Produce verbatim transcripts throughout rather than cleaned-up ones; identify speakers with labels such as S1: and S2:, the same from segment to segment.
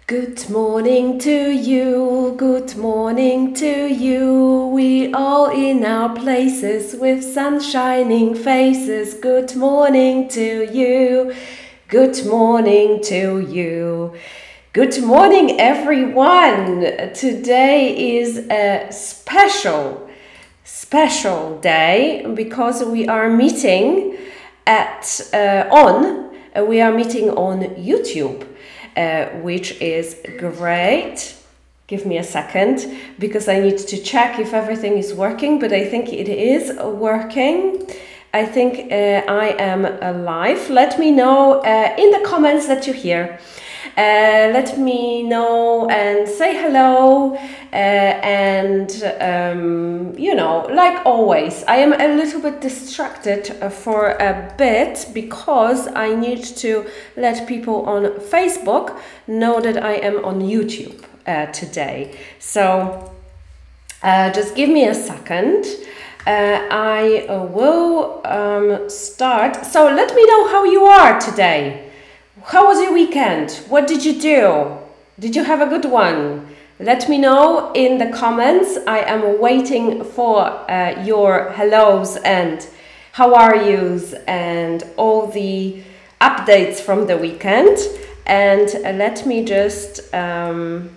S1: Good morning to you, good morning to you. We all in our places with sun shining faces. Good morning to you, good morning to you. Good morning, everyone. Today is a special, special day because we are meeting at uh, on. Uh, we are meeting on YouTube. Uh, which is great. Give me a second because I need to check if everything is working, but I think it is working. I think uh, I am alive. Let me know uh, in the comments that you hear. Uh, let me know and say hello uh, and um, you know, like always, I am a little bit distracted for a bit because I need to let people on Facebook know that I am on YouTube uh, today. So uh, just give me a second. Uh, I uh, will um, start. So let me know how you are today. How was your weekend? What did you do? Did you have a good one? Let me know in the comments. I am waiting for uh, your hellos and how are yous and all the updates from the weekend. And uh, let me just um,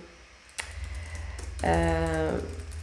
S1: uh,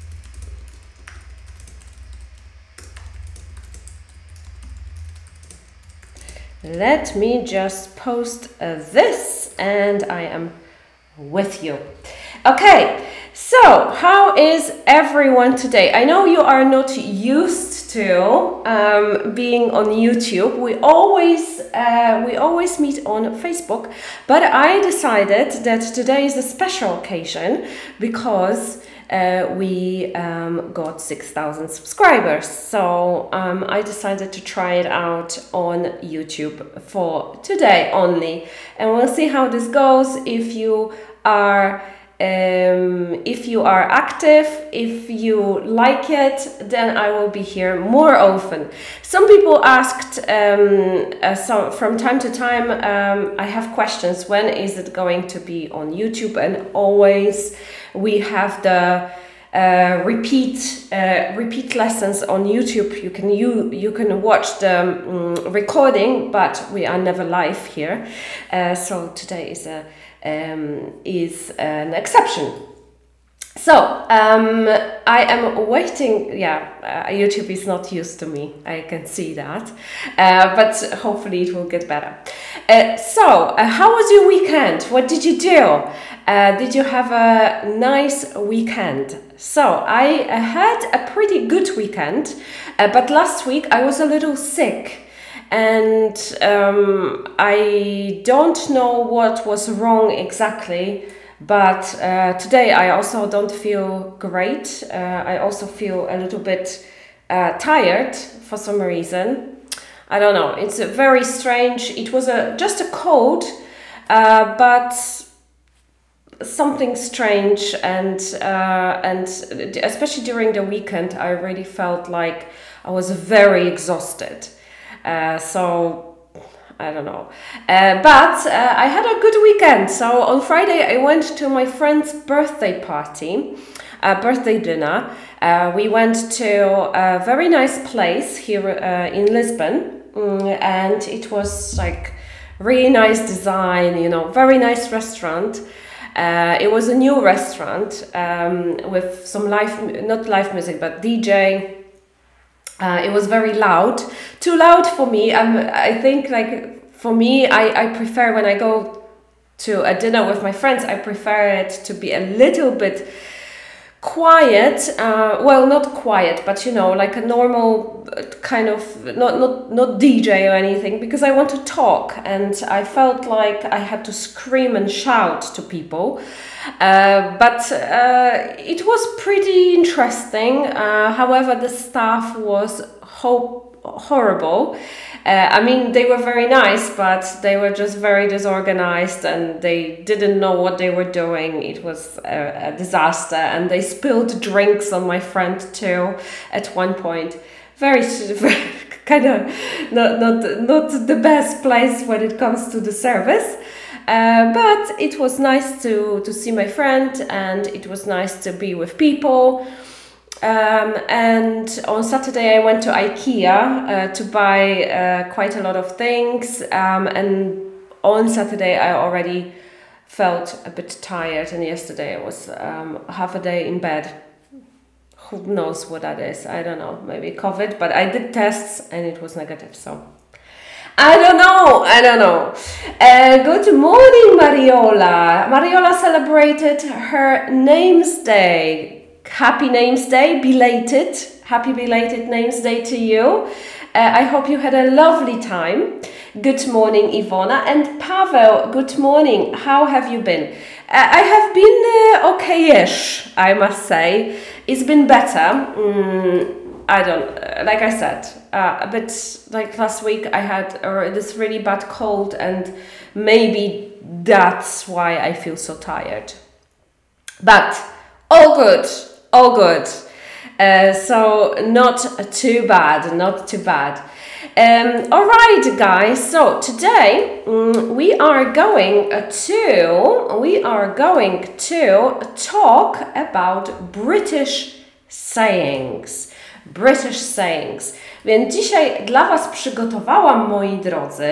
S1: Let me just post uh, this and I am with you. Okay, so how is everyone today? I know you are not used to um, being on YouTube. We always uh, we always meet on Facebook, but I decided that today is a special occasion because Uh, we um, got six thousand subscribers, so um, I decided to try it out on YouTube for today only, and we'll see how this goes. If you are um, if you are active, if you like it, then I will be here more often. Some people asked um, uh, so from time to time, um, I have questions, when is it going to be on YouTube? And always we have the uh, repeat uh, repeat lessons on YouTube. You can you you can watch the um, recording, but we are never live here. Uh, so today is a um, is an exception. So um, I am waiting. Yeah, uh, YouTube is not used to me. I can see that, uh, but hopefully it will get better. Uh, so, uh, how was your weekend? What did you do? Uh, did you have a nice weekend? So I uh, had a pretty good weekend, uh, but last week I was a little sick. And um, I don't know what was wrong exactly, but uh, today I also don't feel great. Uh, I also feel a little bit uh, tired for some reason. I don't know, it's a very strange. It was a just a cold, uh, but something strange, and uh, and especially during the weekend I really felt like I was very exhausted. Uh, so I don't know, uh, but uh, I had a good weekend. So on Friday I went to my friend's birthday party, uh, birthday dinner. Uh, we went to a very nice place here uh, in Lisbon, mm, and it was like really nice design, you know, very nice restaurant. Uh, it was a new restaurant um, with some live, not live music, but D J. Uh, it was very loud, too loud for me. Um, I think like for me, I, I prefer when I go to a dinner with my friends, I prefer it to be a little bit quiet. Uh, well, not quiet, but you know, like a normal kind of, not, not, not D J or anything, because I want to talk, and I felt like I had to scream and shout to people. Uh, but uh, it was pretty interesting. Uh, however, the staff was ho horrible. Uh, I mean, they were very nice, but they were just very disorganized and they didn't know what they were doing. It was a, a disaster, and they spilled drinks on my friend too at one point. Very, very kind of not, not, not the best place when it comes to the service. uh, but it was nice to, to see my friend, and it was nice to be with people. Um, and on Saturday I went to IKEA uh, to buy uh, quite a lot of things, um, and on Saturday I already felt a bit tired, and yesterday I was um, half a day in bed. Who knows what that is? I don't know, maybe COVID, but I did tests and it was negative, so I don't know, I don't know. Uh, good morning, Mariola. Mariola celebrated her Names Day. Happy Names Day, belated. Happy belated Names Day to you. Uh, I hope you had a lovely time. Good morning, Ivona. And Pavel, good morning. How have you been? Uh, I have been uh, okay-ish, I must say. It's been better. Mm, I don't, like I said, uh, a bit like last week I had uh, this really bad cold, and maybe that's why I feel so tired. But all good, all good. Uh, so not too bad, not too bad. Um, all right, guys. So today um, we are going to we are going to talk about British sayings. British sayings. Więc dzisiaj dla Was przygotowałam, moi drodzy,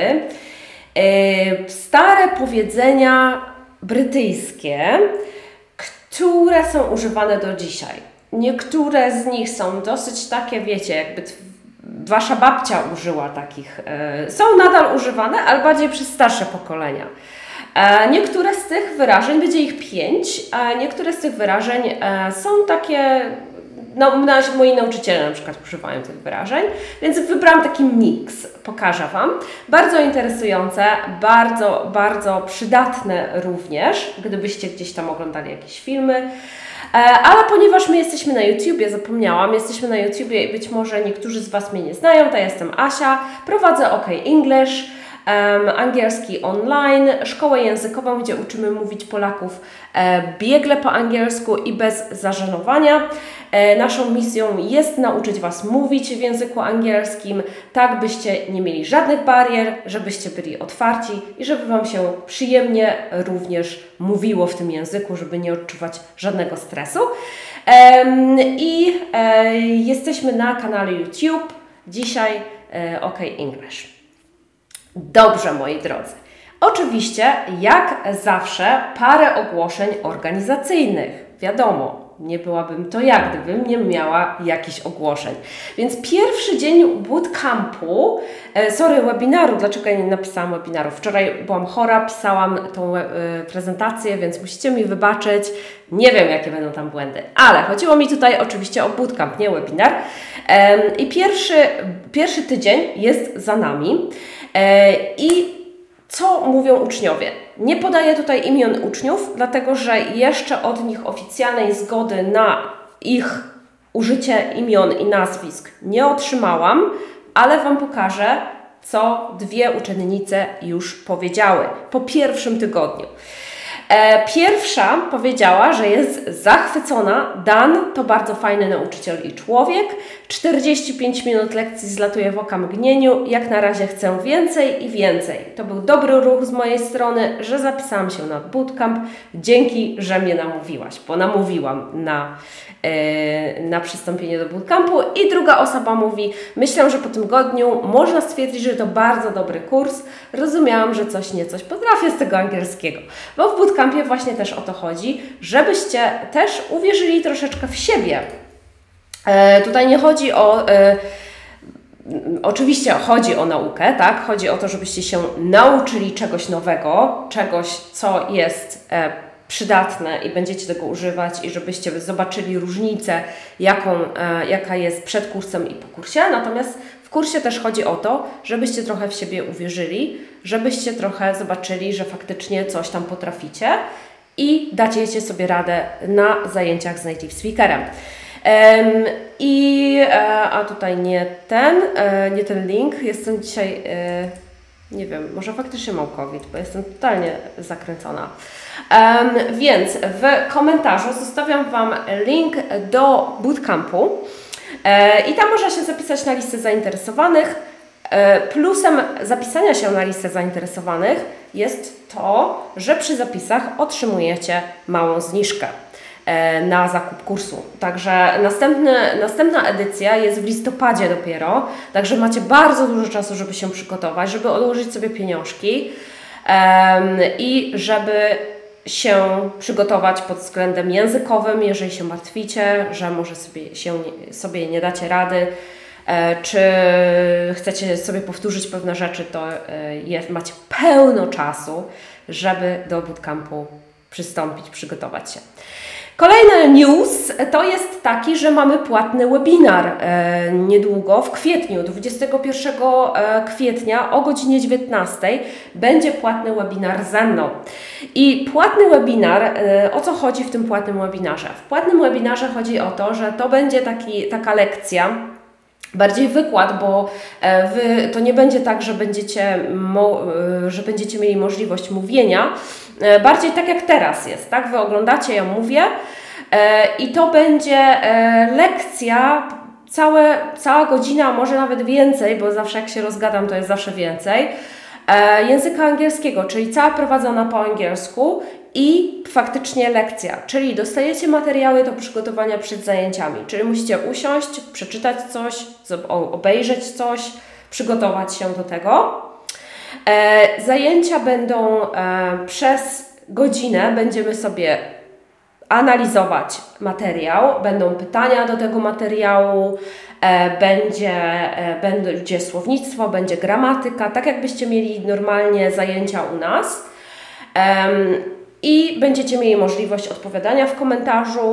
S1: yy, stare powiedzenia brytyjskie, które są używane do dzisiaj. Niektóre z nich są dosyć takie, wiecie, jakby Wasza babcia użyła takich. Yy, są nadal używane, ale bardziej przez starsze pokolenia. E, niektóre z tych wyrażeń, będzie ich pięć, a niektóre z tych wyrażeń e, są takie. No, moi nauczyciele na przykład używają tych wyrażeń, więc wybrałam taki miks, pokażę Wam. Bardzo interesujące, bardzo, bardzo przydatne również, gdybyście gdzieś tam oglądali jakieś filmy. Ale ponieważ my jesteśmy na YouTubie, zapomniałam, jesteśmy na YouTubie i być może niektórzy z Was mnie nie znają, to ja jestem Asia, prowadzę OK English, Um, angielski online, szkołę językową, gdzie uczymy mówić Polaków e, biegle po angielsku i bez zażenowania. E, naszą misją jest nauczyć Was mówić w języku angielskim, tak byście nie mieli żadnych barier, żebyście byli otwarci i żeby Wam się przyjemnie również mówiło w tym języku, żeby nie odczuwać żadnego stresu. E, I e, jesteśmy na kanale YouTube, dzisiaj e, OK English. Dobrze, moi drodzy. Oczywiście, jak zawsze, parę ogłoszeń organizacyjnych. Wiadomo, nie byłabym to ja, gdybym nie miała jakichś ogłoszeń. Więc pierwszy dzień bootcampu, e, sorry, webinaru, dlaczego ja nie napisałam webinaru? Wczoraj byłam chora, pisałam tą e, prezentację, więc musicie mi wybaczyć. Nie wiem, jakie będą tam błędy, ale chodziło mi tutaj oczywiście o bootcamp, nie webinar. E, I pierwszy, pierwszy tydzień jest za nami. I co mówią uczniowie? Nie podaję tutaj imion uczniów, dlatego że jeszcze od nich oficjalnej zgody na ich użycie imion i nazwisk nie otrzymałam, ale Wam pokażę, co dwie uczennice już powiedziały po pierwszym tygodniu. Pierwsza powiedziała, że jest zachwycona. Dan to bardzo fajny nauczyciel i człowiek. czterdzieści pięć minut lekcji zlatuje w oka mgnieniu. Jak na razie chcę więcej i więcej. To był dobry ruch z mojej strony, że zapisałam się na bootcamp. Dzięki, że mnie namówiłaś, bo namówiłam na, yy, na przystąpienie do bootcampu. I druga osoba mówi, myślę, że po tym tygodniu można stwierdzić, że to bardzo dobry kurs. Rozumiałam, że coś niecoś potrafię z tego angielskiego. Bo w bootcampie właśnie też o to chodzi, żebyście też uwierzyli troszeczkę w siebie. E, tutaj nie chodzi o... E, oczywiście chodzi o naukę, tak? Chodzi o to, żebyście się nauczyli czegoś nowego, czegoś, co jest e, przydatne i będziecie tego używać i żebyście zobaczyli różnicę, jaką, e, jaka jest przed kursem i po kursie. Natomiast w kursie też chodzi o to, żebyście trochę w siebie uwierzyli, żebyście trochę zobaczyli, że faktycznie coś tam potraficie i dacie sobie radę na zajęciach z native speakerem. Um, I a tutaj nie ten, nie ten link. Jestem dzisiaj, nie wiem, może faktycznie mam COVID, bo jestem totalnie zakręcona. Um, więc w komentarzu zostawiam Wam link do bootcampu. I tam można się zapisać na listę zainteresowanych. Plusem zapisania się na listę zainteresowanych jest to, że przy zapisach otrzymujecie małą zniżkę na zakup kursu. Także następny, następna edycja jest w listopadzie dopiero, także macie bardzo dużo czasu, żeby się przygotować, żeby odłożyć sobie pieniążki um, i żeby się przygotować pod względem językowym, jeżeli się martwicie, że może sobie, się, sobie nie dacie rady, czy chcecie sobie powtórzyć pewne rzeczy, to jest, macie pełno czasu, żeby do bootcampu przystąpić, przygotować się. Kolejny news to jest taki, że mamy płatny webinar e, niedługo, w kwietniu, dwudziestego pierwszego kwietnia o godzinie dziewiętnastej będzie płatny webinar ze mną. I płatny webinar, e, o co chodzi w tym płatnym webinarze? W płatnym webinarze chodzi o to, że to będzie taki, taka lekcja, bardziej wykład, bo wy, to nie będzie tak, że będziecie, mo, że będziecie mieli możliwość mówienia, bardziej tak jak teraz jest, tak? Wy oglądacie, ja mówię i to będzie lekcja, całe, cała godzina, może nawet więcej, bo zawsze jak się rozgadam, to jest zawsze więcej, języka angielskiego, czyli cała prowadzona po angielsku i faktycznie lekcja, czyli dostajecie materiały do przygotowania przed zajęciami, czyli musicie usiąść, przeczytać coś, obejrzeć coś, przygotować się do tego. E, zajęcia będą e, przez godzinę, będziemy sobie analizować materiał, będą pytania do tego materiału, e, będzie, e, będzie słownictwo, będzie gramatyka, tak jakbyście mieli normalnie zajęcia u nas. E, I będziecie mieli możliwość odpowiadania w komentarzu,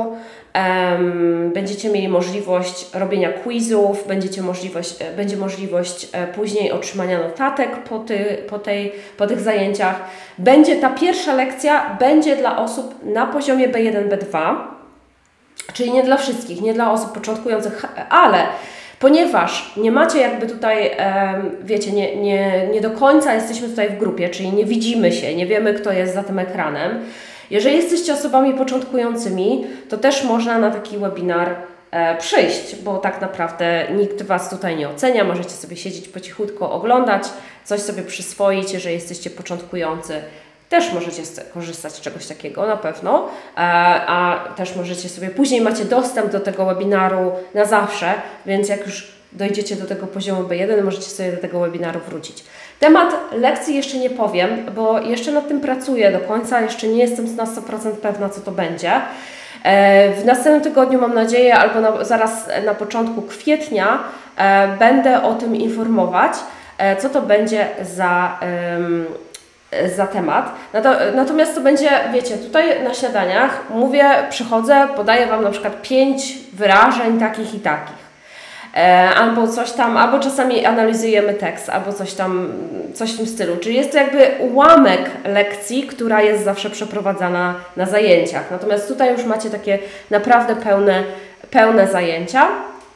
S1: um, będziecie mieli możliwość robienia quizów, będziecie możliwość, będzie możliwość później otrzymania notatek po, ty, po, tej, po tych zajęciach. Będzie ta pierwsza lekcja, będzie dla osób na poziomie B jeden B dwa, czyli nie dla wszystkich, nie dla osób początkujących, ale ponieważ nie macie jakby tutaj, wiecie, nie, nie, nie do końca jesteśmy tutaj w grupie, czyli nie widzimy się, nie wiemy, kto jest za tym ekranem. Jeżeli jesteście osobami początkującymi, to też można na taki webinar przyjść, bo tak naprawdę nikt Was tutaj nie ocenia, możecie sobie siedzieć po cichutko, oglądać, coś sobie przyswoić, jeżeli jesteście początkujący. Też możecie korzystać z czegoś takiego, na pewno, a też możecie sobie, później macie dostęp do tego webinaru na zawsze, więc jak już dojdziecie do tego poziomu B jeden, możecie sobie do tego webinaru wrócić. Temat lekcji jeszcze nie powiem, bo jeszcze nad tym pracuję do końca, jeszcze nie jestem na sto procent pewna, co to będzie. W następnym tygodniu, mam nadzieję, albo na, zaraz na początku kwietnia będę o tym informować, co to będzie za... Um, za temat. Natomiast to będzie, wiecie, tutaj na śniadaniach mówię, przychodzę, podaję Wam na przykład pięć wyrażeń takich i takich. E, albo coś tam, albo czasami analizujemy tekst, albo coś tam, coś w tym stylu. Czyli jest to jakby ułamek lekcji, która jest zawsze przeprowadzana na zajęciach. Natomiast tutaj już macie takie naprawdę pełne, pełne zajęcia,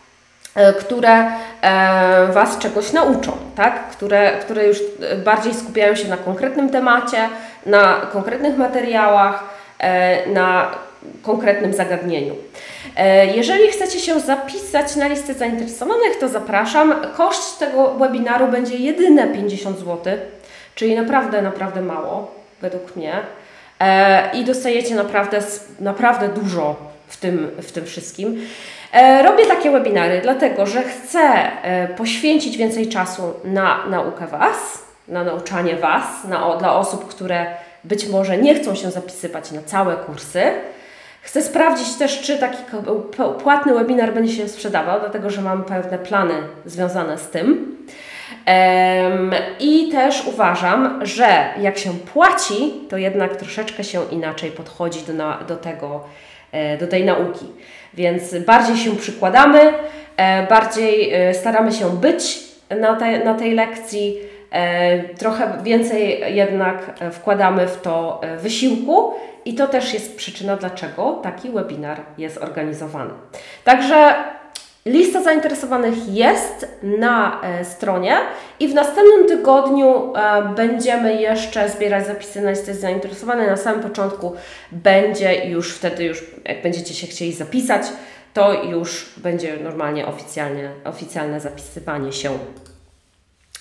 S1: które Was czegoś nauczą, tak? które, które już bardziej skupiają się na konkretnym temacie, na konkretnych materiałach, na konkretnym zagadnieniu. Jeżeli chcecie się zapisać na listę zainteresowanych, to zapraszam. Koszt tego webinaru będzie jedyne pięćdziesiąt złotych, czyli naprawdę, naprawdę mało według mnie i dostajecie naprawdę, naprawdę dużo w tym, w tym wszystkim. Robię takie webinary, dlatego że chcę poświęcić więcej czasu na naukę Was, na nauczanie Was, na, dla osób, które być może nie chcą się zapisywać na całe kursy. Chcę sprawdzić też, czy taki płatny webinar będzie się sprzedawał, dlatego że mam pewne plany związane z tym. I też uważam, że jak się płaci, to jednak troszeczkę się inaczej podchodzi do, na, do tego, do tej nauki. Więc bardziej się przykładamy, bardziej staramy się być na, te, na tej lekcji, trochę więcej jednak wkładamy w to wysiłku i to też jest przyczyna, dlaczego taki webinar jest organizowany. Także lista zainteresowanych jest na stronie i w następnym tygodniu będziemy jeszcze zbierać zapisy na listę zainteresowanych. Na samym początku będzie już wtedy, już jak będziecie się chcieli zapisać, to już będzie normalnie oficjalnie, oficjalne zapisywanie się.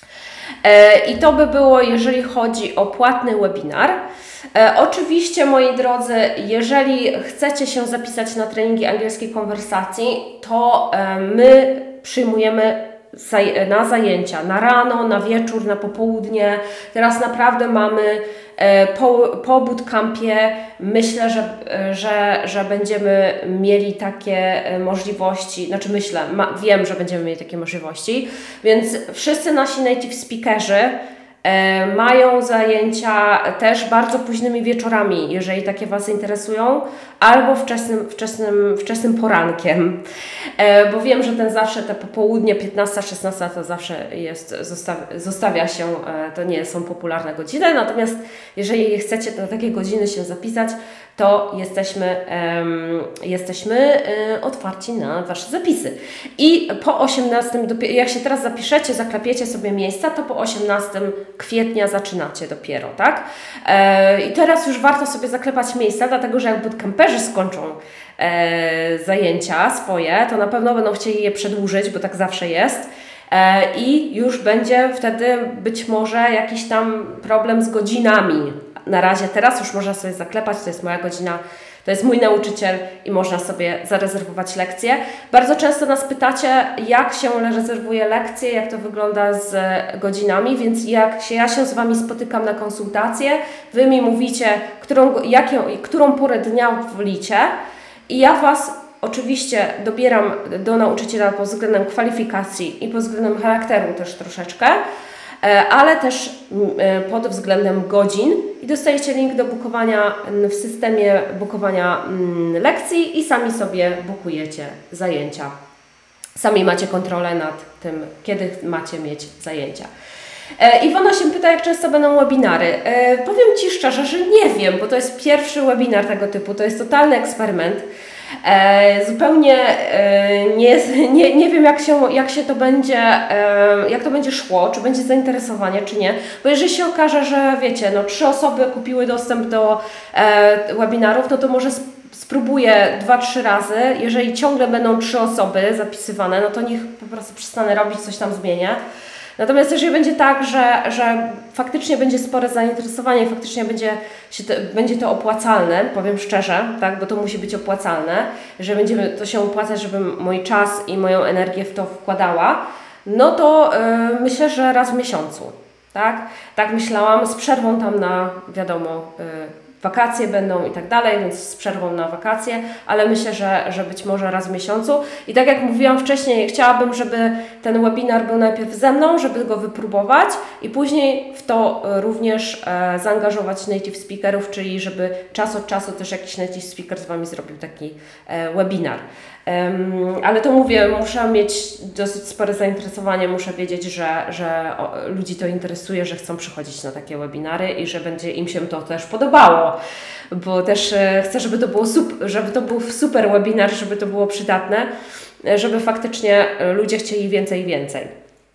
S1: I to by było, jeżeli chodzi o płatny webinar. Oczywiście, moi drodzy, jeżeli chcecie się zapisać na treningi angielskiej konwersacji, to my przyjmujemy na zajęcia, na rano, na wieczór, na popołudnie. Teraz naprawdę mamy po, po bootcampie, myślę, że, że, że będziemy mieli takie możliwości, znaczy myślę, ma, wiem, że będziemy mieli takie możliwości, więc wszyscy nasi native speakerzy e, mają zajęcia też bardzo późnymi wieczorami, jeżeli takie Was interesują, albo wczesnym, wczesnym, wczesnym porankiem, e, bo wiem, że ten zawsze te popołudnie piętnasta szesnasta to zawsze jest, zostawia, zostawia się, e, to nie są popularne godziny, natomiast jeżeli chcecie na takie godziny się zapisać, to jesteśmy, um, jesteśmy um, otwarci na Wasze zapisy. I po osiemnastego, jak się teraz zapiszecie, zaklepiecie sobie miejsca, to po osiemnastego kwietnia zaczynacie dopiero, tak? E, I teraz już warto sobie zaklepać miejsca, dlatego że jak bootcamperzy skończą e, zajęcia swoje, to na pewno będą chcieli je przedłużyć, bo tak zawsze jest. E, I już będzie wtedy być może jakiś tam problem z godzinami. Na razie teraz już można sobie zaklepać, to jest moja godzina, to jest mój nauczyciel i można sobie zarezerwować lekcje. Bardzo często nas pytacie, jak się rezerwuje lekcje, jak to wygląda z godzinami, więc jak się, ja się z Wami spotykam na konsultację, Wy mi mówicie, którą, jak ją, którą porę dnia wolicie i ja Was oczywiście dobieram do nauczyciela pod względem kwalifikacji i pod względem charakteru też troszeczkę, ale też pod względem godzin i dostajecie link do bukowania w systemie bukowania lekcji i sami sobie bukujecie zajęcia. Sami macie kontrolę nad tym, kiedy macie mieć zajęcia. Iwona się pyta, jak często będą webinary. Powiem Ci szczerze, że nie wiem, bo to jest pierwszy webinar tego typu, to jest totalny eksperyment. E, zupełnie e, nie, nie, nie wiem, jak się, jak się to będzie, e, jak to będzie szło, czy będzie zainteresowanie, czy nie. Bo jeżeli się okaże, że wiecie, no trzy osoby kupiły dostęp do e, webinarów, no to może sp spróbuję dwa, trzy razy. Jeżeli ciągle będą trzy osoby zapisywane, no to niech po prostu przestanę robić, coś tam zmienię. Natomiast jeżeli będzie tak, że, że faktycznie będzie spore zainteresowanie i faktycznie będzie, się to, będzie to opłacalne, powiem szczerze, tak, bo to musi być opłacalne, że będzie to się opłacać, żebym mój czas i moją energię w to wkładała, no to yy, myślę, że raz w miesiącu, tak? Tak myślałam, z przerwą tam na, wiadomo, yy, wakacje będą i tak dalej, więc z przerwą na wakacje, ale myślę, że, że być może raz w miesiącu. I tak jak mówiłam wcześniej, chciałabym, żeby ten webinar był najpierw ze mną, żeby go wypróbować i później w to również e, zaangażować native speakerów, czyli żeby czas od czasu też jakiś native speaker z Wami zrobił taki e, webinar. Um, ale to mówię, muszę mieć dosyć spore zainteresowanie, muszę wiedzieć, że, że o, ludzi to interesuje, że chcą przychodzić na takie webinary i że będzie im się to też podobało, bo też e, chcę, żeby to, było super, żeby to był super webinar, żeby to było przydatne, żeby faktycznie ludzie chcieli więcej i więcej.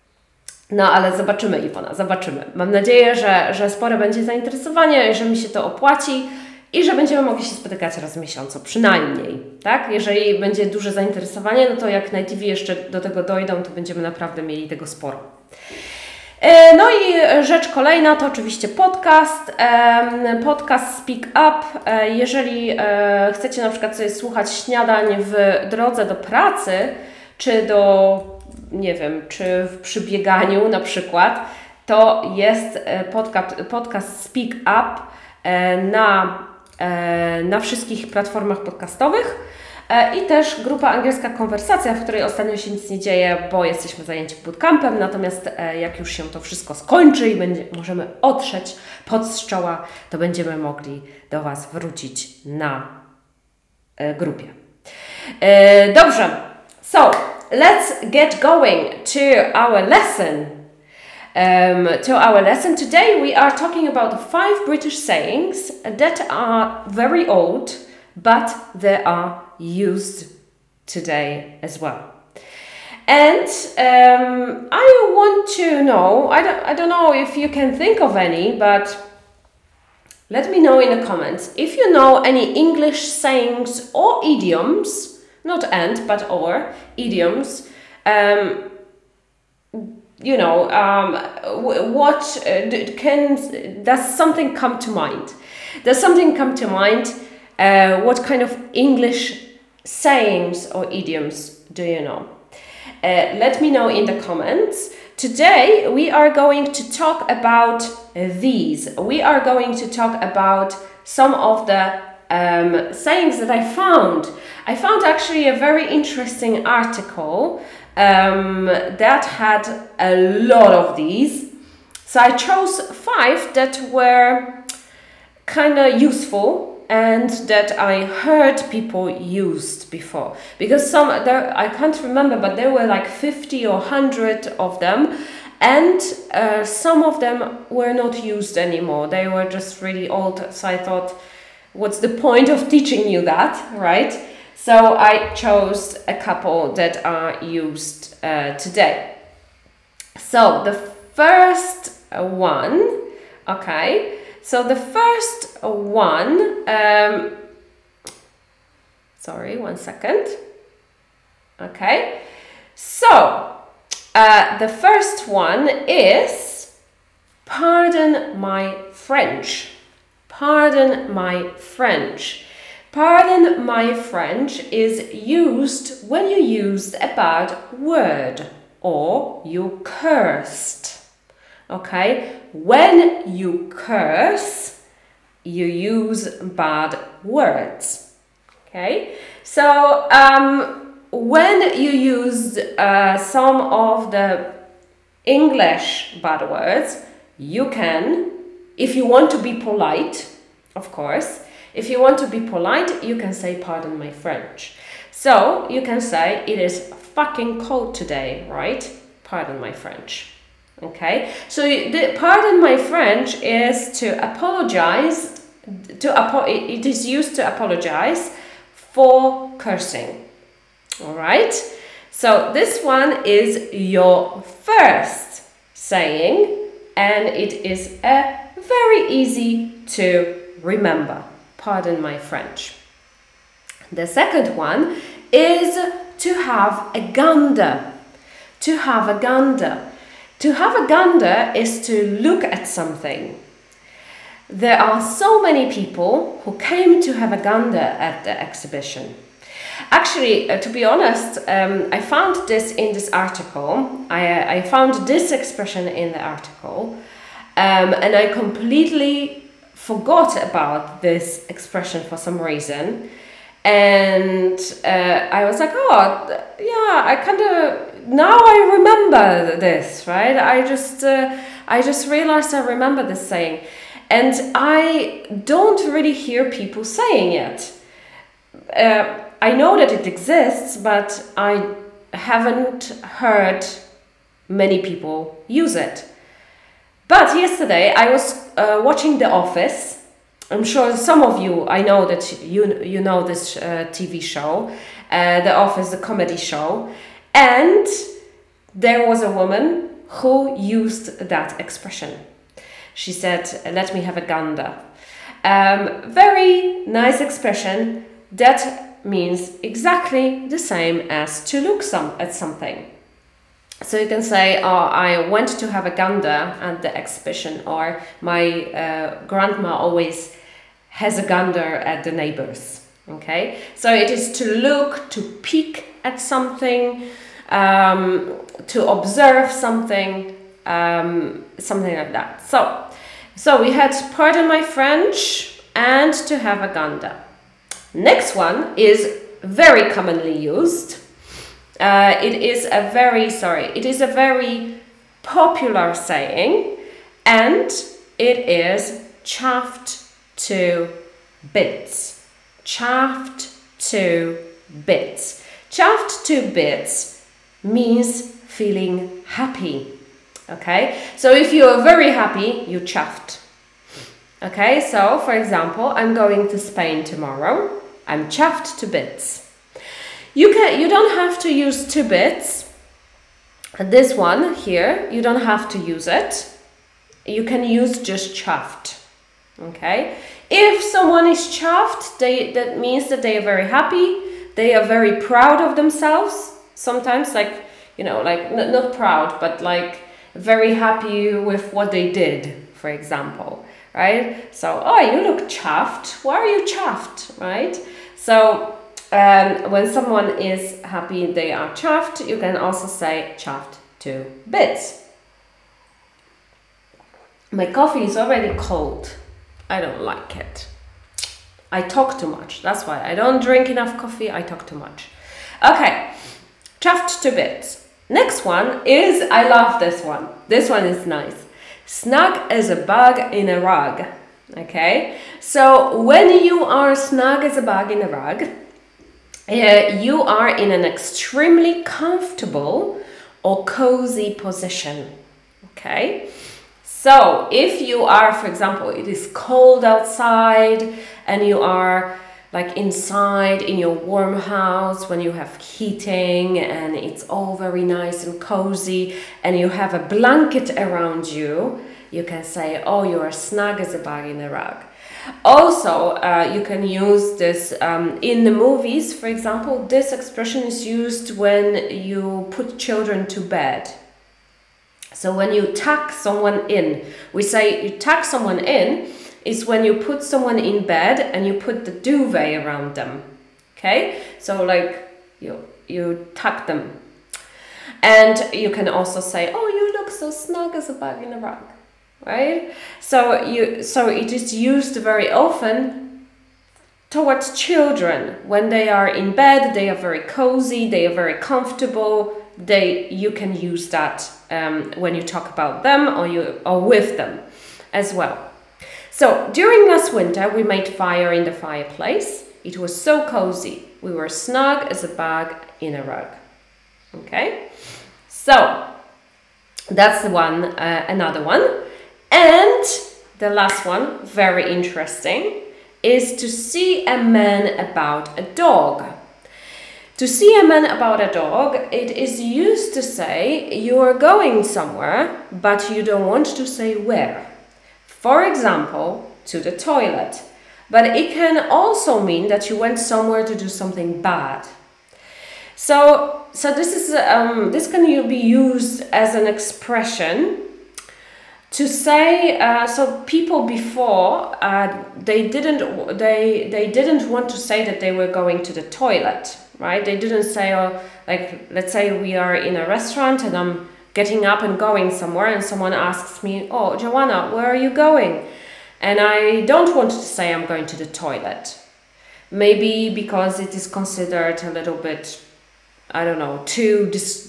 S1: No ale zobaczymy, Iwona, zobaczymy. Mam nadzieję, że, że spore będzie zainteresowanie, że mi się to opłaci i że będziemy mogli się spotykać raz w miesiącu, przynajmniej, tak? Jeżeli będzie duże zainteresowanie, no to jak nativi jeszcze do tego dojdą, to będziemy naprawdę mieli tego sporo. No i rzecz kolejna to oczywiście podcast, podcast Speak Up. Jeżeli chcecie na przykład sobie słuchać śniadań w drodze do pracy, czy do, nie wiem, czy w przybieganiu na przykład, to jest podcast, podcast Speak Up na, na wszystkich platformach podcastowych. I też grupa Angielska Konwersacja, w której ostatnio się nic nie dzieje, bo jesteśmy zajęci bootcampem, natomiast jak już się to wszystko skończy i będzie, możemy otrzeć pot z czoła, to będziemy mogli do Was wrócić na grupie. Dobrze, so let's get going to our lesson. Um, to our lesson today we are talking about five British sayings that are very old, but they are used today as well. And um, I want to know, I don't, I don't know if you can think of any, but let me know in the comments if you know any English sayings or idioms, not and, but or idioms, um, you know, um, what uh, can, does something come to mind? Does something come to mind? Uh, what kind of English sayings or idioms do you know? Uh, let me know in the comments. Today we are going to talk about these. We are going to talk about some of the um, sayings that I found. I found actually a very interesting article um, that had a lot of these. So I chose five that were kind of useful and that I heard people used before, because some there I can't remember, but there were like fifty or one hundred of them, and uh, some of them were not used anymore. They were just really old, so I thought, what's the point of teaching you that, right? So I chose a couple that are used uh, today. So the first one, okay, so the first one, um, sorry, one second. Okay, so uh, the first one is pardon my French. Pardon my French. Pardon my French is used when you used a bad word or you cursed. Okay, when you curse, you use bad words. Okay, so um, when you use uh, some of the English bad words, you can, if you want to be polite, of course, if you want to be polite, you can say pardon my French. So you can say it is fucking cold today, right? Pardon my French. Okay, so the pardon my French is to apologize, to apo it is used to apologize for cursing. All right, so this one is your first saying, and it is a very easy to remember. Pardon my French. The second one is to have a gander. To have a gander. To have a gander is to look at something. There are so many people who came to have a gander at the exhibition. Actually, uh, to be honest, um, I found this in this article. I, uh, I found this expression in the article, um, and I completely forgot about this expression for some reason. And uh, I was like, oh, yeah, I kind of, now I remember this, right? I just, uh, I just realized I remember this saying. And I don't really hear people saying it. Uh, I know that it exists, but I haven't heard many people use it. But yesterday I was uh, watching The Office. I'm sure some of you, I know that you you know this uh, T V show, uh, The Office, the comedy show, and there was a woman who used that expression. She said, "Let me have a gander." Um, very nice expression that means exactly the same as to look some at something. So you can say, oh, I went to have a gander at the exhibition, or my uh, grandma always has a gander at the neighbors. Okay, so it is to look, to peek at something, um, to observe something, um, something like that. So, so we had pardon my French and to have a gander. Next one is very commonly used. Uh, it is a very, sorry, it is a very popular saying, and it is chaffed to bits. Chaffed to bits. Chaffed to bits means feeling happy. Okay, so if you are very happy, you chuffed. Okay, so for example, I'm going to Spain tomorrow. I'm chuffed to bits. You can, you don't have to use to bits. This one here, you don't have to use it. You can use just chuffed. Okay, if someone is chuffed, they, that means that they are very happy. They are very proud of themselves. Sometimes, like, you know, like n not proud, but like very happy with what they did, for example, right? So, oh, you look chuffed. Why are you chuffed, right? So, um, when someone is happy, they are chuffed. You can also say chuffed to bits. My coffee is already cold. I don't like it. I talk too much. That's why I don't drink enough coffee. I talk too much. Okay, chuffed to bits. Next one is, I love this one. This one is nice. Snug as a bug in a rug. Okay, so when you are snug as a bug in a rug, uh, you are in an extremely comfortable or cozy position. Okay. So if you are, for example, it is cold outside and you are like inside in your warm house when you have heating and it's all very nice and cozy and you have a blanket around you, you can say, oh, you are snug as a bug in a rug. Also, uh, you can use this um, in the movies, for example. This expression is used when you put children to bed. So when you tuck someone in, we say you tuck someone in is when you put someone in bed and you put the duvet around them. Okay, so like you you tuck them. And you can also say, oh, you look so snug as a bug in a rug, right? So you so it is used very often towards children. When they are in bed, they are very cozy, they are very comfortable. They you can use that um, when you talk about them or you or with them as well. So during last winter we made fire in the fireplace. It was so cozy. We were snug as a bug in a rug. Okay, so that's the one, uh, another one. And the last one, very interesting, is to see a man about a dog. To see a man about a dog, it is used to say you are going somewhere, but you don't want to say where. For example, to the toilet. But it can also mean that you went somewhere to do something bad. So, so this is um, this can be used as an expression to say. Uh, so people before uh, they didn't they they didn't want to say that they were going to the toilet. Right? They didn't say, oh, like, let's say we are in a restaurant and I'm getting up and going somewhere and someone asks me, oh, Joanna, where are you going? And I don't want to say I'm going to the toilet. Maybe because it is considered a little bit, I don't know, too, dis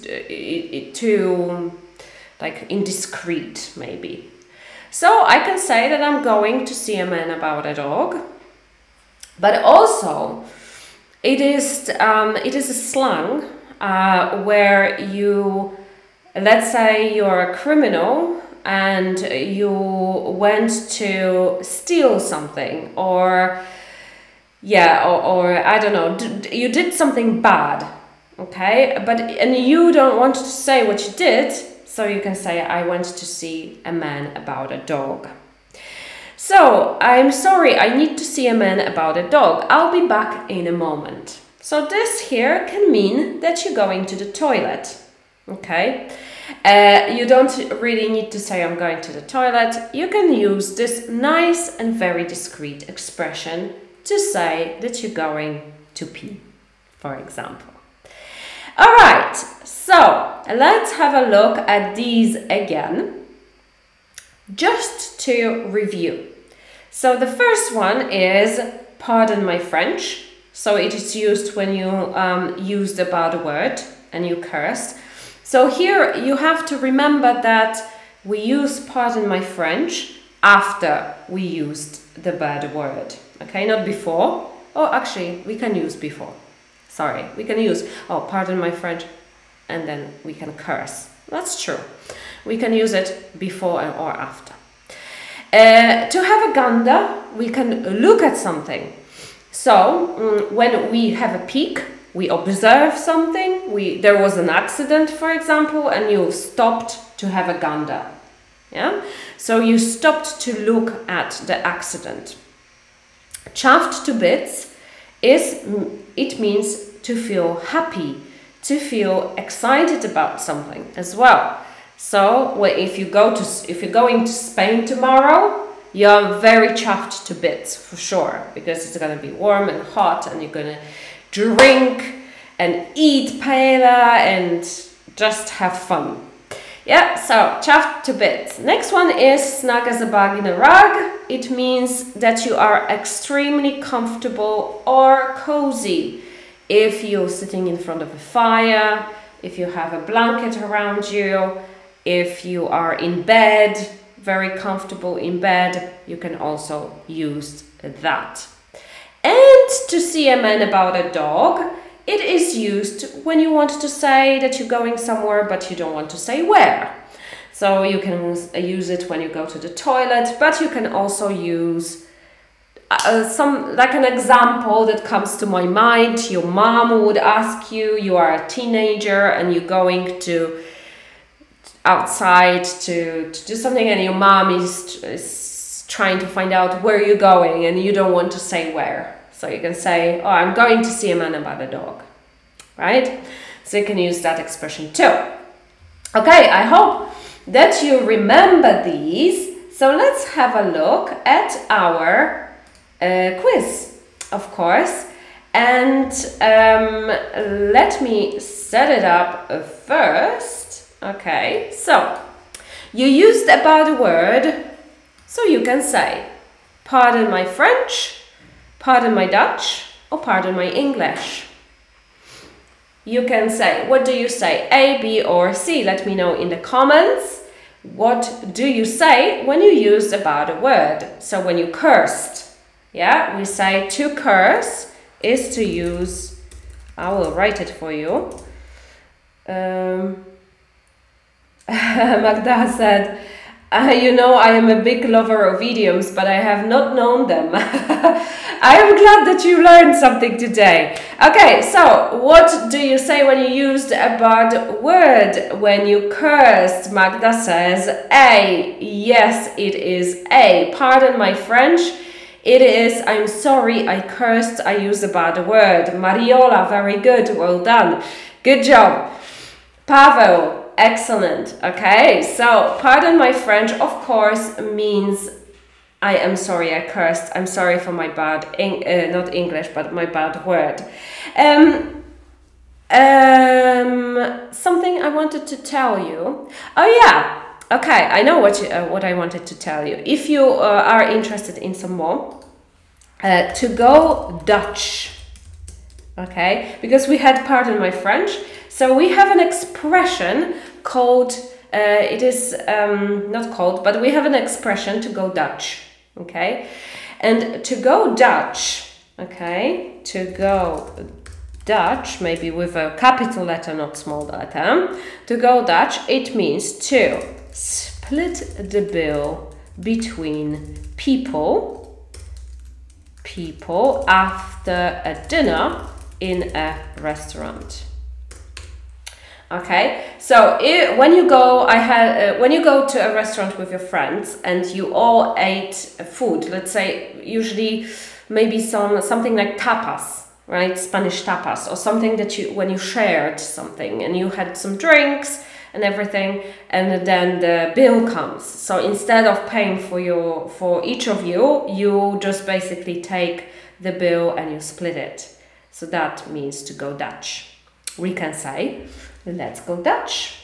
S1: too like indiscreet, maybe. So I can say that I'm going to see a man about a dog, but also It is um, it is a slang uh, where you, let's say you're a criminal and you went to steal something, or yeah, or, or I don't know, d you did something bad, okay? But and you don't want to say what you did, so you can say I went to see a man about a dog. So, I'm sorry, I need to see a man about a dog. I'll be back in a moment. So this here can mean that you're going to the toilet, okay? Uh, you don't really need to say I'm going to the toilet. You can use this nice and very discreet expression to say that you're going to pee, for example. All right, so let's have a look at these again. Just to review. So the first one is pardon my French. So it is used when you um, used a bad word and you cursed. So here you have to remember that we use pardon my French after we used the bad word. Okay, not before. Oh, actually, we can use before. Sorry, we can use, oh, pardon my French, and then we can curse. That's true. We can use it before or after. Uh, to have a gander, we can look at something. So um, when we have a peek, we observe something. We there was an accident, for example, and you stopped to have a gander. Yeah. So you stopped to look at the accident. Chuffed to bits is it means to feel happy, to feel excited about something as well. So well, if you go to if you're going to Spain tomorrow, you're very chuffed to bits for sure, because it's gonna be warm and hot, and you're gonna drink and eat paella and just have fun. Yeah, so chuffed to bits. Next one is snug as a bug in a rug. It means that you are extremely comfortable or cozy. If you're sitting in front of a fire, if you have a blanket around you, if you are in bed, very comfortable in bed, you can also use that. And to see a man about a dog, it is used when you want to say that you're going somewhere but you don't want to say where. So you can use it when you go to the toilet, but you can also use uh, some, like an example that comes to my mind. Your mom would ask you, you are a teenager and you're going to outside to, to do something, and your mom is, is trying to find out where you're going and you don't want to say where. So you can say, oh, I'm going to see a man about a dog, right? So you can use that expression too. Okay, I hope that you remember these. So let's have a look at our uh, quiz, of course. And um, let me set it up first. Okay, so you used about a word, so you can say, pardon my French, pardon my Dutch, or pardon my English. You can say, what do you say, A, B, or C? Let me know in the comments. What do you say when you use about a word? So when you cursed, yeah, we say to curse is to use, I will write it for you. Um, Magda said, Uh, you know, I am a big lover of idioms, but I have not known them. I am glad that you learned something today. Okay, so what do you say when you used a bad word? When you cursed, Magda says A. Yes, it is A. Pardon my French. It is, I'm sorry, I cursed, I used a bad word. Mariola, very good, well done. Good job. Pavel. Excellent. Okay, so pardon my French, of course, means I am sorry, I cursed. I'm sorry for my bad, uh, not English, but my bad word. Um, um, something I wanted to tell you. Oh yeah. Okay, I know what you, uh, what I wanted to tell you. If you uh, are interested in some more, uh, to go Dutch. Okay, because we had pardon my French. So we have an expression called, uh, it is um, not called, but we have an expression to go Dutch, okay? And to go Dutch, okay, to go Dutch, maybe with a capital letter, not small letter, to go Dutch, it means to split the bill between people, people after a dinner in a restaurant. Okay, so if, when you go, I had uh, when you go to a restaurant with your friends and you all ate food, let's say usually maybe some something like tapas, right? Spanish tapas, or something that you when you shared something and you had some drinks and everything, and then the bill comes. So instead of paying for your for each of you, you just basically take the bill and you split it. So that means to go Dutch. We can say, let's go Dutch.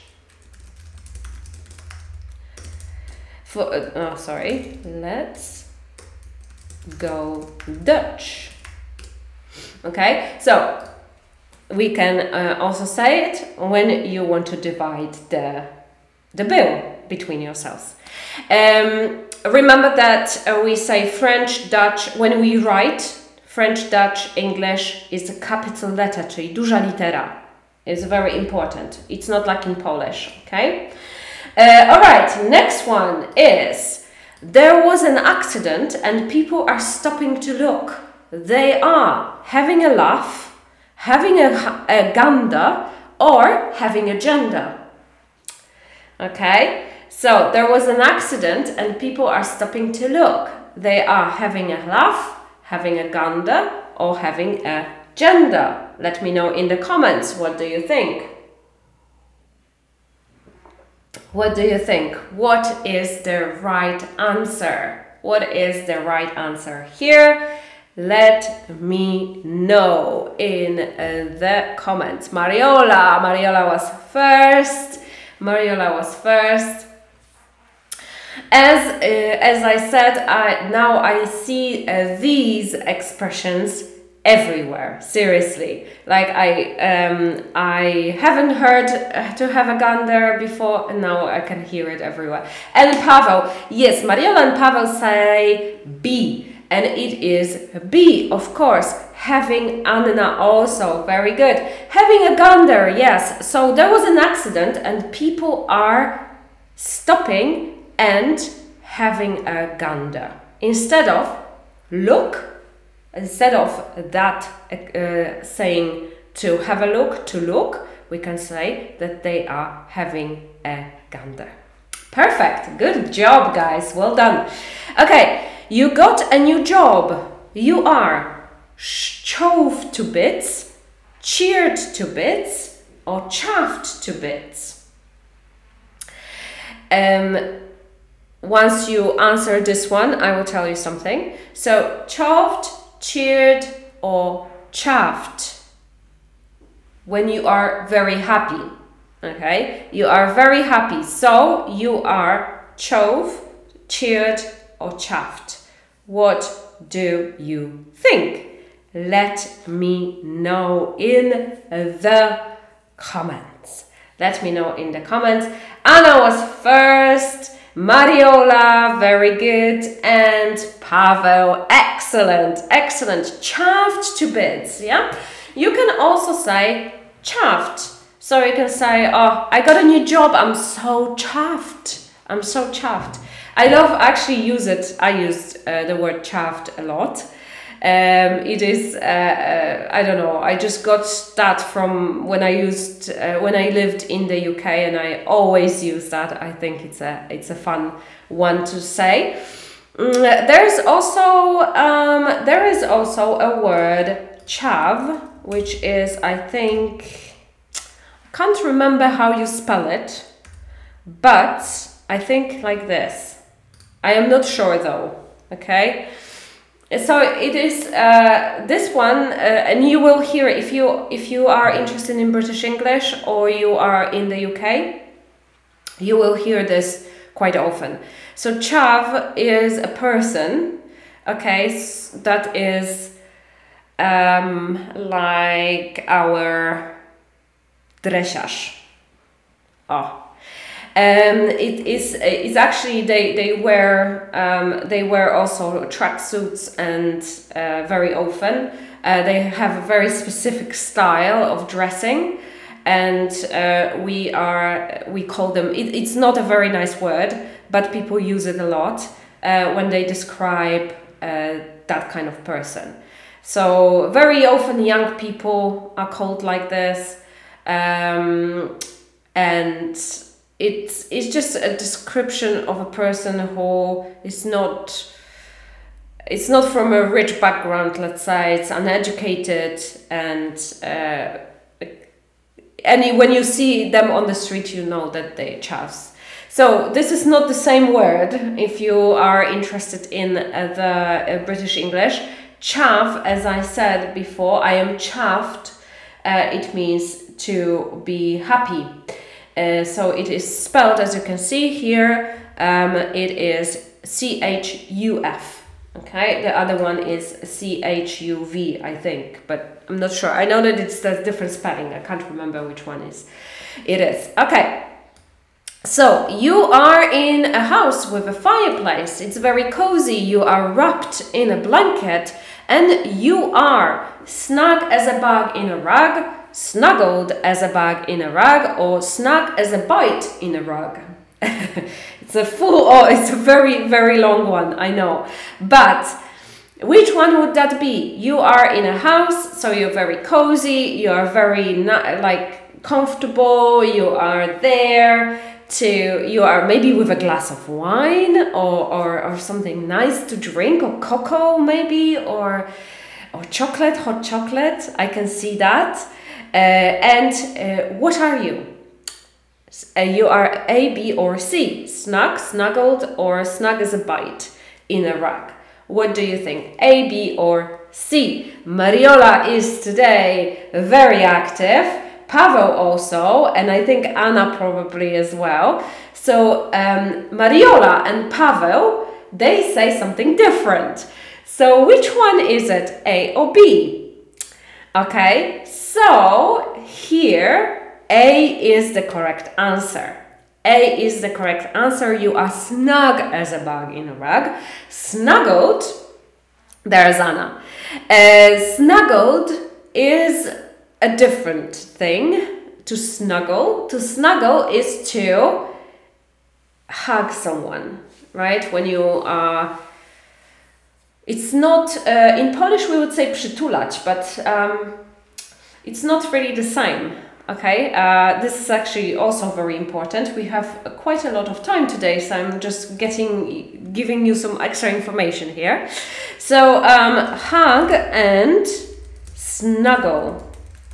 S1: For, uh, oh, sorry. Let's go Dutch. Okay, so we can uh, also say it when you want to divide the, the bill between yourselves. Um, remember that uh, we say French, Dutch, when we write French, Dutch, English is a capital letter, czyli duża litera. It's very important. It's not like in Polish, okay? Uh, all right, next one is, there was an accident and people are stopping to look. They are having a laugh, having a, a gander, or having a gender. Okay, so there was an accident and people are stopping to look. They are having a laugh, having a gander, or having a gender. Let me know in the comments, what do you think? What do you think? What is the right answer? What is the right answer here? Let me know in uh, the comments. Mariola, Mariola was first. Mariola was first. As uh, as I said, I now I see uh, these expressions everywhere. Seriously, like I um I haven't heard uh, to have a gander before, and now I can hear it everywhere. And Pavel, yes, Mariola and Pavel say be. And it is B, of course. Having Anna also, very good. Having a gander, yes. So there was an accident and people are stopping and having a gander. Instead of look, instead of that uh, saying to have a look, to look, we can say that they are having a gander. Perfect, good job guys, well done. Okay. You got a new job. You are shoved to bits, cheered to bits, or chaffed to bits. Um, once you answer this one, I will tell you something. So, chaffed, cheered, or chaffed. When you are very happy, okay? You are very happy. So, you are chove, cheered, or chaffed. What do you think? Let me know in the comments. Let me know in the comments. Anna was first. Mariola, very good. And Pavel, excellent, excellent. Chaffed to bits, yeah? You can also say chaffed. So you can say, oh, I got a new job. I'm so chaffed. I'm so chaffed. I love actually use it. I used uh, the word chaffed a lot. Um, it is, uh, uh, I don't know, I just got that from when I used, uh, when I lived in the U K, and I always use that. I think it's a, it's a fun one to say. Mm, there's also, um, there is also a word chav, which is, I think, I can't remember how you spell it, but I think like this. I am not sure though, okay? So it is uh, this one, uh, and you will hear if you if you are interested in British English or you are in the U K, you will hear this quite often. So chav is a person, okay, that is um, like our dresiarz. Oh. Um, it is. It's actually they they wear um, they wear also tracksuits and uh, very often uh, they have a very specific style of dressing, and uh, we are we call them. It, it's not a very nice word, but people use it a lot uh, when they describe uh, that kind of person. So very often young people are called like this, um, and. It's, it's just a description of a person who is not, it's not from a rich background, let's say, it's uneducated, and uh, and when you see them on the street, you know that they chaffs. So this is not the same word if you are interested in uh, the uh, British English. Chaff, as I said before, I am chaffed, uh, it means to be happy. Uh, so it is spelled, as you can see here, um, it is C H U F, okay? The other one is C H U V, I think, but I'm not sure. I know that it's a different spelling. I can't remember which one is. It is. Okay. So you are in a house with a fireplace. It's very cozy. You are wrapped in a blanket, and you are snug as a bug in a rug, snuggled as a bag in a rug, or snug as a bite in a rug. It's a full, oh, it's a very, very long one, I know. But which one would that be? You are in a house, so you're very cozy, you are very, like, comfortable, you are there to, you are maybe with a glass of wine, or, or, or something nice to drink, or cocoa maybe, or, or chocolate, hot chocolate, I can see that. Uh, and uh, what are you? You are A, B, or C. Snug, snuggled, or snug as a bite in a rug. What do you think? A, B, or C? Mariola is today very active. Paweł also, and I think Anna probably as well. So um, Mariola and Paweł, they say something different. So which one is it? A or B? Okay, so here A is the correct answer. A is the correct answer. You are snug as a bug in a rug. Snuggled, there's Anna. Uh, snuggled is a different thing to snuggle. To snuggle is to hug someone, right? When you are, it's not, uh, in Polish we would say przytulać, but um, it's not really the same. Okay, uh, this is actually also very important. We have uh, quite a lot of time today, so I'm just getting, giving you some extra information here. So, um, hug and snuggle.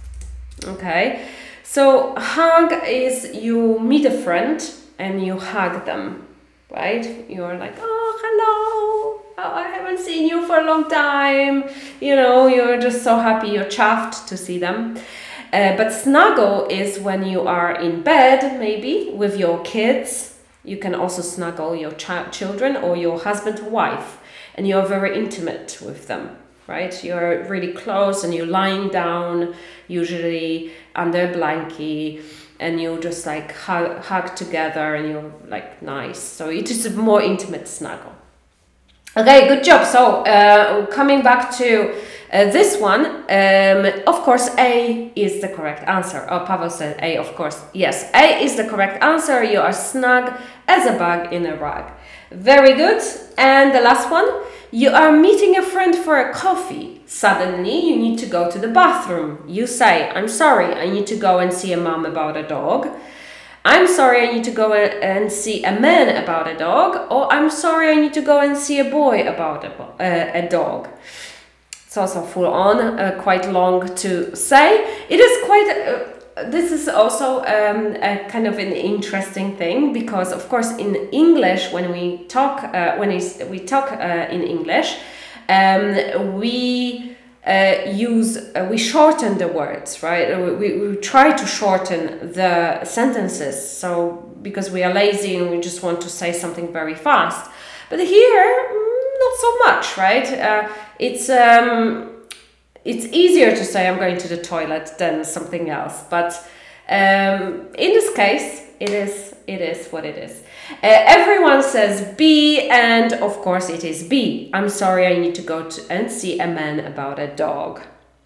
S1: Okay, so hug is you meet a friend and you hug them, right? You're like, oh, hello, oh, I haven't seen you for a long time. You know, you're just so happy, you're chuffed to see them. Uh, but snuggle is when you are in bed, maybe, with your kids. You can also snuggle your ch- children or your husband or wife, and you're very intimate with them, right? You're really close and you're lying down, usually under a blanket, and you just like hug, hug together and you're like nice. So it is a more intimate snuggle. Okay, good job. So uh, coming back to uh, this one, um, of course, A is the correct answer. Oh, Paweł said A, of course. Yes, A is the correct answer. You are snug as a bug in a rug. Very good. And the last one, you are meeting a friend for a coffee. Suddenly, you need to go to the bathroom. You say, I'm sorry, I need to go and see a mom about a dog. I'm sorry, I need to go and see a man about a dog, or I'm sorry, I need to go and see a boy about a, uh, a dog. It's also full on, uh, quite long to say. It is quite, uh, this is also um, a kind of an interesting thing, because of course in English, when we talk, uh, when we talk uh, in English, um, we Uh, use uh, we shorten the words, right? We, we try to shorten the sentences, so because we are lazy and we just want to say something very fast. But here, not so much, right? Uh, it's um, it's easier to say I'm going to the toilet than something else. But um, in this case, it is it is what it is. Uh, everyone says B, and of course it is B. I'm sorry, I need to go to and see a man about a dog.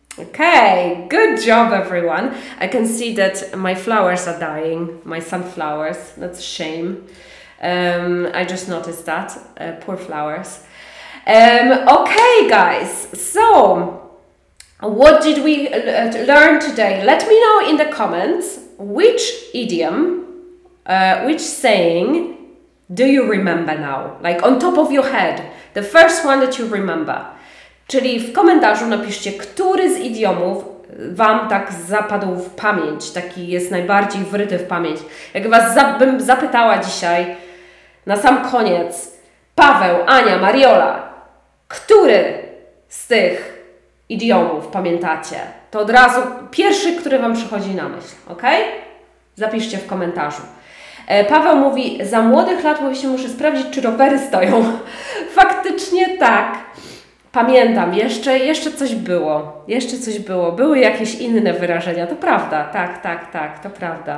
S1: Okay, good job, everyone. I can see that my flowers are dying, my sunflowers. That's a shame. Um, I just noticed that. Uh, poor flowers. Um, okay, guys. So, what did we uh, learn today? Let me know in the comments which idiom, Uh, which saying do you remember now? Like on top of your head. The first one that you remember. Czyli w komentarzu napiszcie, który z idiomów Wam tak zapadł w pamięć, taki jest najbardziej wryty w pamięć. Jak Was za bym zapytała dzisiaj, na sam koniec, Paweł, Ania, Mariola, który z tych idiomów pamiętacie? To od razu pierwszy, który Wam przychodzi na myśl, ok? Zapiszcie w komentarzu. Paweł mówi, za młodych lat mówi się, muszę sprawdzić, czy rowery stoją. Faktycznie tak. Pamiętam, jeszcze, jeszcze coś było. Jeszcze coś było. Były jakieś inne wyrażenia. To prawda. Tak, tak, tak. To prawda.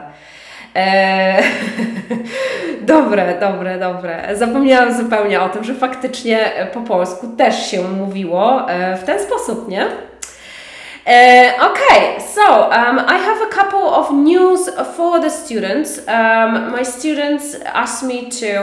S1: Eee, dobre, dobre, dobre. Zapomniałam zupełnie o tym, że faktycznie po polsku też się mówiło w ten sposób, nie? Uh, okay, so um, I have a couple of news for the students. Um, my students asked me to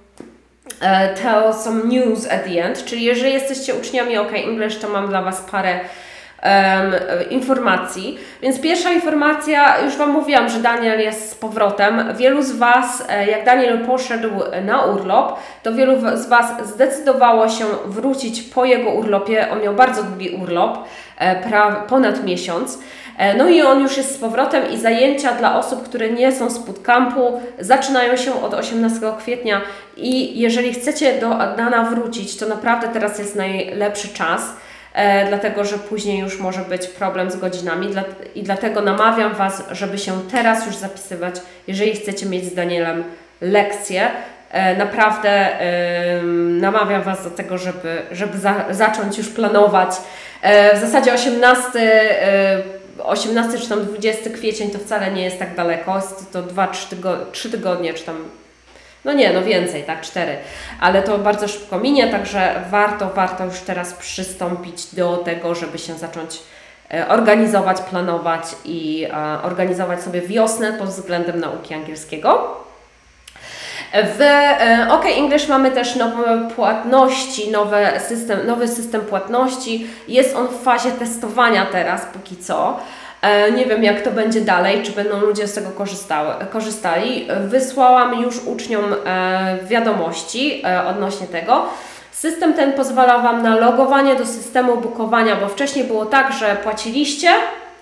S1: uh, tell some news at the end. Czyli jeżeli jesteście uczniami OK English, to mam dla Was parę um, informacji. Więc pierwsza informacja, już Wam mówiłam, że Daniel jest z powrotem. Wielu z Was, jak Daniel poszedł na urlop, to wielu z Was zdecydowało się wrócić po jego urlopie. On miał bardzo długi urlop, ponad miesiąc. No i on już jest z powrotem i zajęcia dla osób, które nie są z bootcampu, zaczynają się od osiemnastego kwietnia i jeżeli chcecie do Dana wrócić, to naprawdę teraz jest najlepszy czas, e, dlatego że później już może być problem z godzinami dla, i dlatego namawiam Was, żeby się teraz już zapisywać, jeżeli chcecie mieć z Danielem lekcje. E, naprawdę e, namawiam Was do tego, żeby, żeby za, zacząć już planować. E, w zasadzie osiemnasty e, osiemnasty czy tam dwudziesty kwiecień to wcale nie jest tak daleko, jest to dwa trzy tygodnie, czy tam, no nie, no więcej, tak, cztery, ale to bardzo szybko minie, także warto, warto już teraz przystąpić do tego, żeby się zacząć organizować, planować i organizować sobie wiosnę pod względem nauki angielskiego. W OK English mamy też nowe płatności, nowy system, nowy system płatności. Jest on w fazie testowania teraz, póki co. Nie wiem, jak to będzie dalej, czy będą ludzie z tego korzystały, korzystali. Wysłałam już uczniom wiadomości odnośnie tego. System ten pozwala Wam na logowanie do systemu bookowania, bo wcześniej było tak, że płaciliście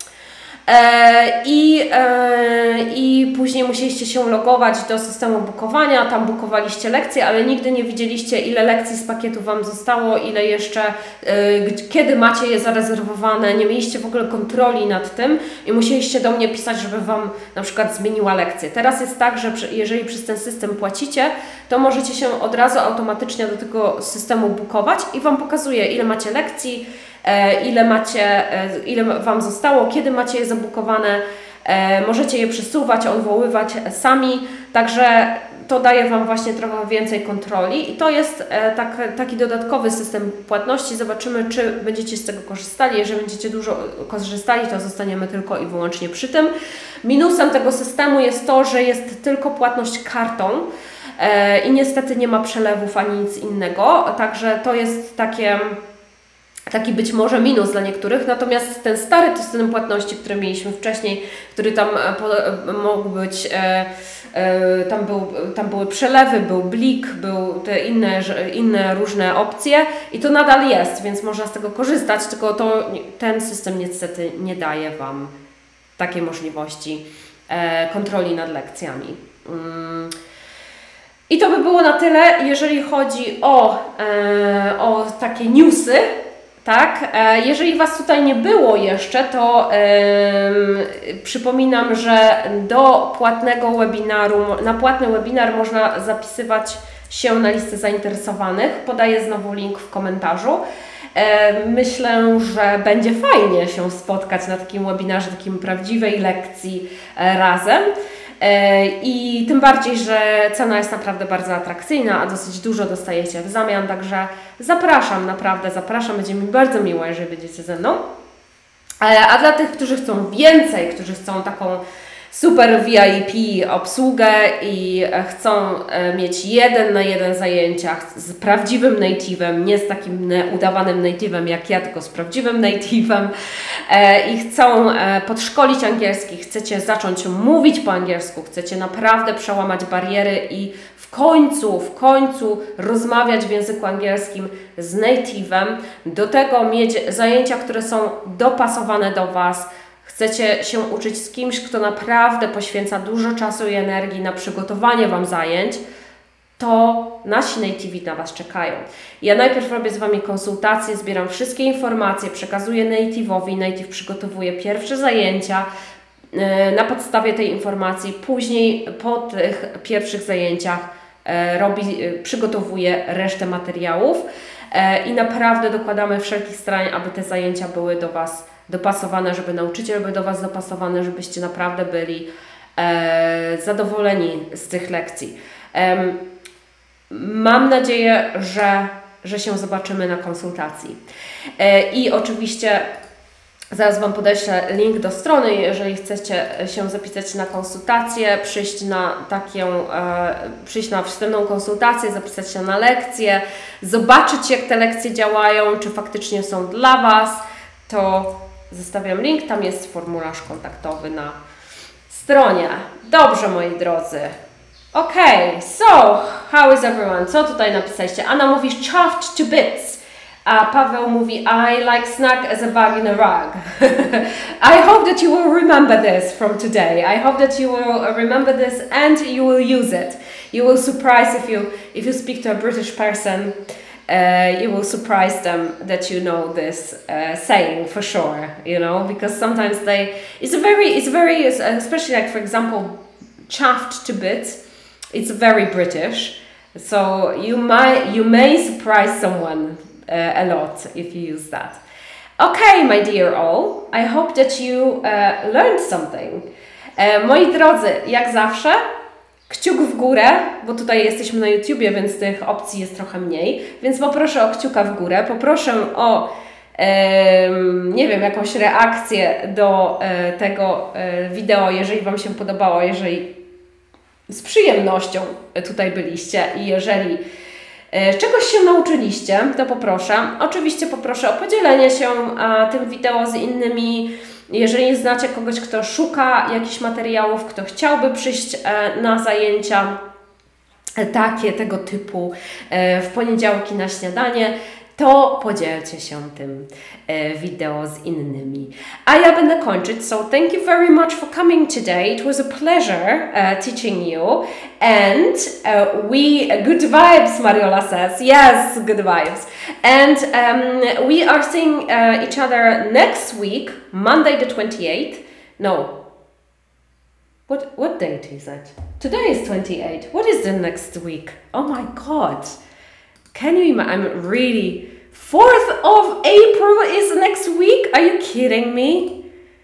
S1: E, i, e, i później musieliście się logować do systemu bookowania, tam bookowaliście lekcje, ale nigdy nie widzieliście, ile lekcji z pakietu Wam zostało, ile jeszcze, e, kiedy macie je zarezerwowane, nie mieliście w ogóle kontroli nad tym i musieliście do mnie pisać, żeby Wam na przykład zmieniła lekcję. Teraz jest tak, że jeżeli przez ten system płacicie, to możecie się od razu automatycznie do tego systemu bookować i Wam pokazuje, ile macie lekcji, ile macie, ile Wam zostało, kiedy macie je zabukowane, możecie je przesuwać, odwoływać sami, także to daje Wam właśnie trochę więcej kontroli i to jest tak, taki dodatkowy system płatności. Zobaczymy, czy będziecie z tego korzystali. Jeżeli będziecie dużo korzystali, to zostaniemy tylko i wyłącznie przy tym. Minusem tego systemu jest to, że jest tylko płatność kartą i niestety nie ma przelewów ani nic innego, także to jest takie... Taki być może minus dla niektórych, natomiast ten stary system płatności, który mieliśmy wcześniej, który tam po, mógł być, e, e, tam, był, tam były przelewy, był blik, były te inne, inne różne opcje i to nadal jest, więc można z tego korzystać, tylko to, ten system niestety nie daje Wam takiej możliwości e, kontroli nad lekcjami. Mm. I to by było na tyle, jeżeli chodzi o, e, o takie newsy. Tak, jeżeli Was tutaj nie było jeszcze, to yy, przypominam, że do płatnego webinaru, na płatny webinar można zapisywać się na listę zainteresowanych. Podaję znowu link w komentarzu. Yy, myślę, że będzie fajnie się spotkać na takim webinarze, takim prawdziwej lekcji yy, razem. I tym bardziej, że cena jest naprawdę bardzo atrakcyjna, a dosyć dużo dostajecie w zamian, także zapraszam, naprawdę zapraszam, będzie mi bardzo miło, jeżeli będziecie ze mną. A dla tych, którzy chcą więcej, którzy chcą taką super V I P obsługę i chcą mieć jeden na jeden zajęcia z prawdziwym native'em, nie z takim udawanym native'em jak ja, tylko z prawdziwym native'em i chcą podszkolić angielski, chcecie zacząć mówić po angielsku, chcecie naprawdę przełamać bariery i w końcu, w końcu rozmawiać w języku angielskim z native'em, do tego mieć zajęcia, które są dopasowane do Was. Chcecie się uczyć z kimś, kto naprawdę poświęca dużo czasu i energii na przygotowanie Wam zajęć, to nasi nativi na Was czekają. Ja najpierw robię z Wami konsultacje, zbieram wszystkie informacje, przekazuję native'owi, native przygotowuje pierwsze zajęcia na podstawie tej informacji, później po tych pierwszych zajęciach robi, przygotowuje resztę materiałów i naprawdę dokładamy wszelkich starań, aby te zajęcia były do Was dopasowane, żeby nauczyciel był do Was dopasowany, żebyście naprawdę byli e, zadowoleni z tych lekcji. E, mam nadzieję, że, że się zobaczymy na konsultacji. E, I oczywiście zaraz Wam podeślę link do strony, jeżeli chcecie się zapisać na konsultację, przyjść na taką, e, przyjść na wstępną konsultację, zapisać się na lekcję, zobaczyć, jak te lekcje działają, czy faktycznie są dla Was, to zostawiam link, tam jest formularz kontaktowy na stronie. Dobrze, moi drodzy. Okej, okay, so, how is everyone? Co tutaj napisaliście? Anna mówi chuffed to bits. A Paweł mówi I like snack as a bug in a rug. I hope that you will remember this from today. I hope that you will remember this and you will use it. You will surprise if you if you speak to a British person. Uh, you will surprise them that you know this uh, saying for sure. You know, because sometimes they it's a very it's very especially like for example chuffed to bits. It's very British, so you might you may surprise someone uh, a lot if you use that. Okay, my dear all, I hope that you uh, learned something. Uh, moi drodzy, jak zawsze, kciuk w górę, bo tutaj jesteśmy na YouTubie, więc tych opcji jest trochę mniej, więc poproszę o kciuka w górę, poproszę o um, nie wiem, jakąś reakcję do uh, tego uh, wideo, jeżeli Wam się podobało, jeżeli z przyjemnością tutaj byliście i jeżeli e, czegoś się nauczyliście, to poproszę. Oczywiście poproszę o podzielenie się a, tym wideo z innymi. Jeżeli znacie kogoś, kto szuka jakichś materiałów, kto chciałby przyjść e, na zajęcia e, takie, tego typu e, w poniedziałki na śniadanie, to podzielcie się tym e, wideo z innymi. A ja będę kończyć, so thank you very much for coming today. It was a pleasure uh, teaching you. And uh, we, good vibes, Mariola says. Yes, good vibes. And um, we are seeing uh, each other next week, Monday the twenty-eighth. No. What, what date is it? Today is twenty-eight. What is the next week? Oh my God. Can you imagine? I'm really... fourth of April is next week? Are you kidding me?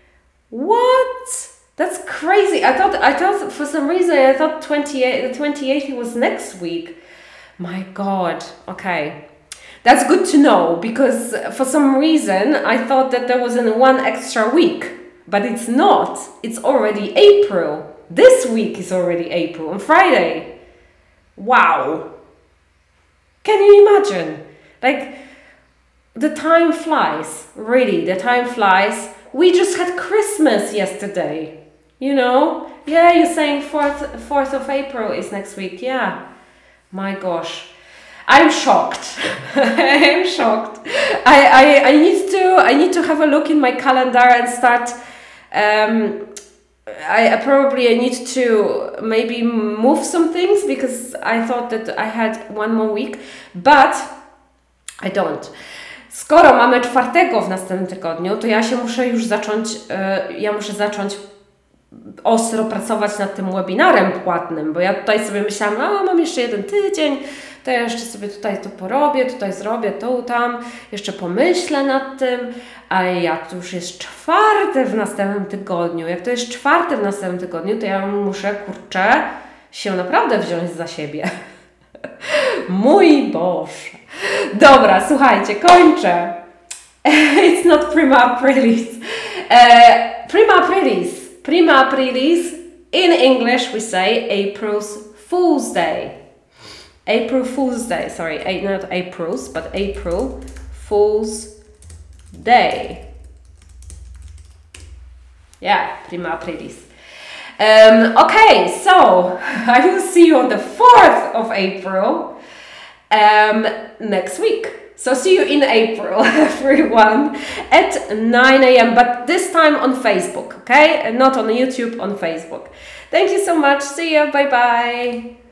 S1: What? That's crazy. I thought, I thought for some reason, I thought twenty-eight, the twenty-eighth was next week. My God. Okay. That's good to know, because for some reason, I thought that there was an one extra week. But it's not. It's already April. This week is already April, on Friday. Wow. Can you imagine? Like, the time flies. Really, the time flies. We just had Christmas yesterday. You know? Yeah, you're saying fourth of April is next week. Yeah. My gosh. I'm shocked. I'm shocked. I, I, I need to I need to have a look in my calendar and start um, I, I probably I need to maybe move some things, because I thought that I had one more week, but I don't. Skoro mamy czwartego w następnym tygodniu, to ja się muszę już zacząć, yy, ja muszę zacząć ostro pracować nad tym webinarem płatnym, bo ja tutaj sobie myślałam, a mam jeszcze jeden tydzień, to ja jeszcze sobie tutaj to porobię, tutaj zrobię, to tam, jeszcze pomyślę nad tym, a jak to już jest czwarte w następnym tygodniu, jak to jest czwarte w następnym tygodniu, to ja muszę, kurczę, się naprawdę wziąć za siebie. Mój Boże. Dobra, słuchajcie, kończę. It's not prima aprilis. Uh, prima aprilis. Prima aprilis. In English we say April's Fool's Day. April Fool's Day. Sorry, not April's, but April Fool's Day. Yeah, prima aprilis. Um, okay, so I will see you on the fourth of April um, next week. So see you in April, everyone, at nine a m But this time on Facebook, okay? And not on YouTube, on Facebook. Thank you so much. See you. Bye-bye.